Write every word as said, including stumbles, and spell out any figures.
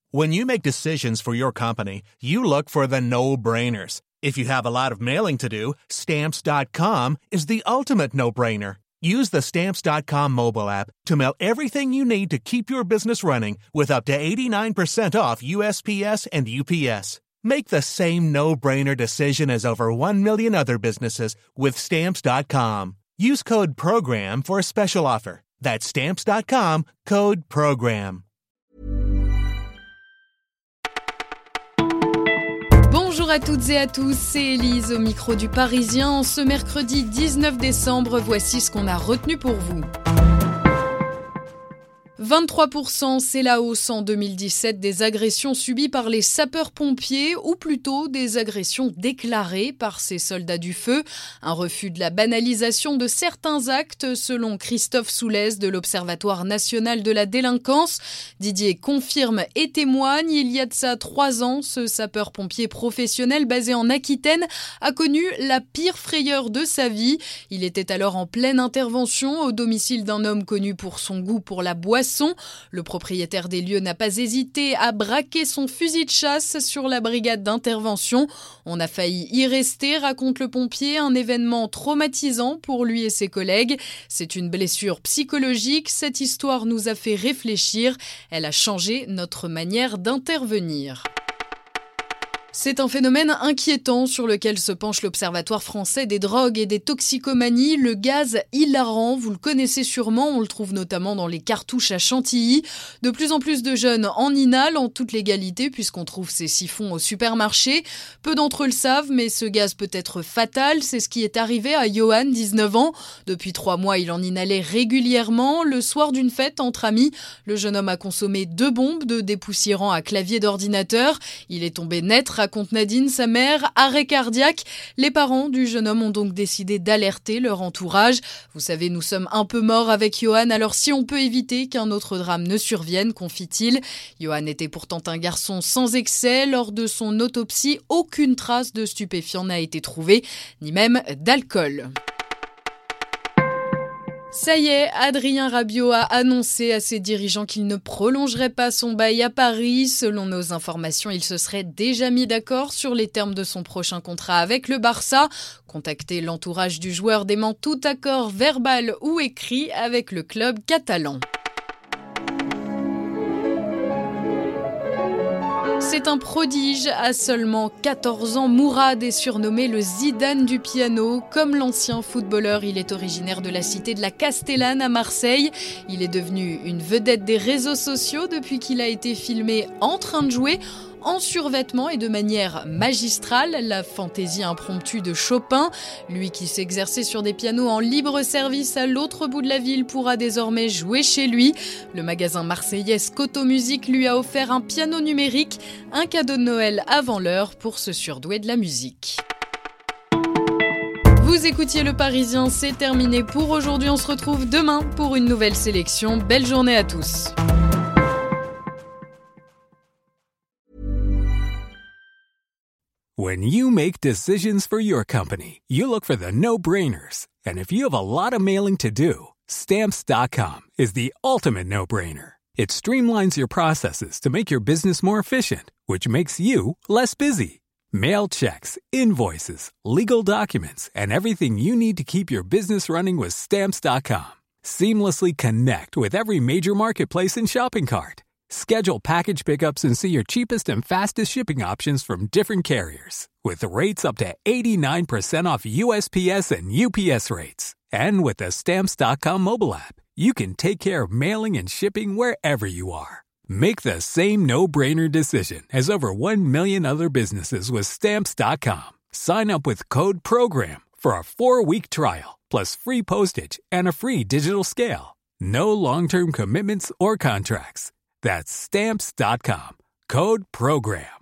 When you make decisions for your company, you look for the no-brainers. If you have a lot of mailing to do, Stamps dot com is the ultimate no-brainer. Use the Stamps dot com mobile app to mail everything you need to keep your business running with up to eighty-nine percent off U S P S and U P S. Make the same no-brainer decision as over one million other businesses with Stamps dot com. Use code PROGRAM for a special offer. That's Stamps dot com, code PROGRAM. Bonjour à toutes et à tous, c'est Élise au micro du Parisien. Ce mercredi dix-neuf décembre, voici ce qu'on a retenu pour vous. vingt-trois pour cent, c'est la hausse en deux mille dix-sept des agressions subies par les sapeurs-pompiers, ou plutôt des agressions déclarées par ces soldats du feu. Un refus de la banalisation de certains actes, selon Christophe Soulès de l'Observatoire national de la délinquance. Didier confirme et témoigne, il y a de ça trois ans, ce sapeur-pompier professionnel basé en Aquitaine a connu la pire frayeur de sa vie. Il était alors en pleine intervention au domicile d'un homme connu pour son goût pour la boisson. Le propriétaire des lieux n'a pas hésité à braquer son fusil de chasse sur la brigade d'intervention. On a failli y rester, raconte le pompier, un événement traumatisant pour lui et ses collègues. C'est une blessure psychologique, cette histoire nous a fait réfléchir. Elle a changé notre manière d'intervenir. C'est un phénomène inquiétant sur lequel se penche l'Observatoire français des drogues et des toxicomanies. Le gaz hilarant, vous le connaissez sûrement, on le trouve notamment dans les cartouches à Chantilly. De plus en plus de jeunes en inhalent en toute légalité puisqu'on trouve ces siphons au supermarché. Peu d'entre eux le savent, mais ce gaz peut être fatal. C'est ce qui est arrivé à Johan, dix-neuf ans. Depuis trois mois, il en inhalait régulièrement. Le soir d'une fête entre amis, le jeune homme a consommé deux bombes de dépoussiérant à clavier d'ordinateur. Il est tombé net, raconte Nadine, sa mère, arrêt cardiaque. Les parents du jeune homme ont donc décidé d'alerter leur entourage. Vous savez, nous sommes un peu morts avec Johan, alors si on peut éviter qu'un autre drame ne survienne, confie-t-il. Johan était pourtant un garçon sans excès. Lors de son autopsie, aucune trace de stupéfiant n'a été trouvée, ni même d'alcool. Ça y est, Adrien Rabiot a annoncé à ses dirigeants qu'il ne prolongerait pas son bail à Paris. Selon nos informations, il se serait déjà mis d'accord sur les termes de son prochain contrat avec le Barça. Contacté, l'entourage du joueur dément tout accord verbal ou écrit avec le club catalan. C'est un prodige. À seulement quatorze ans, Mourad est surnommé le Zidane du piano. Comme l'ancien footballeur, il est originaire de la cité de la Castellane à Marseille. Il est devenu une vedette des réseaux sociaux depuis qu'il a été filmé en train de jouer en survêtement et de manière magistrale, la fantaisie impromptue de Chopin. Lui qui s'exerçait sur des pianos en libre service à l'autre bout de la ville pourra désormais jouer chez lui. Le magasin marseillais Scoto Music lui a offert un piano numérique, un cadeau de Noël avant l'heure pour se surdouer de la musique. Vous écoutiez Le Parisien, c'est terminé pour aujourd'hui. On se retrouve demain pour une nouvelle sélection. Belle journée à tous. When you make decisions for your company, you look for the no-brainers. And if you have a lot of mailing to do, Stamps dot com is the ultimate no-brainer. It streamlines your processes to make your business more efficient, which makes you less busy. Mail checks, invoices, legal documents, and everything you need to keep your business running with Stamps dot com. Seamlessly connect with every major marketplace and shopping cart. Schedule package pickups and see your cheapest and fastest shipping options from different carriers. With rates up to eighty-nine percent off U S P S and U P S rates. And with the Stamps dot com mobile app, you can take care of mailing and shipping wherever you are. Make the same no-brainer decision as over one million other businesses with Stamps dot com. Sign up with code PROGRAM for a four-week trial, plus free postage and a free digital scale. No long-term commitments or contracts. That's Stamps dot com. Code PROGRAM.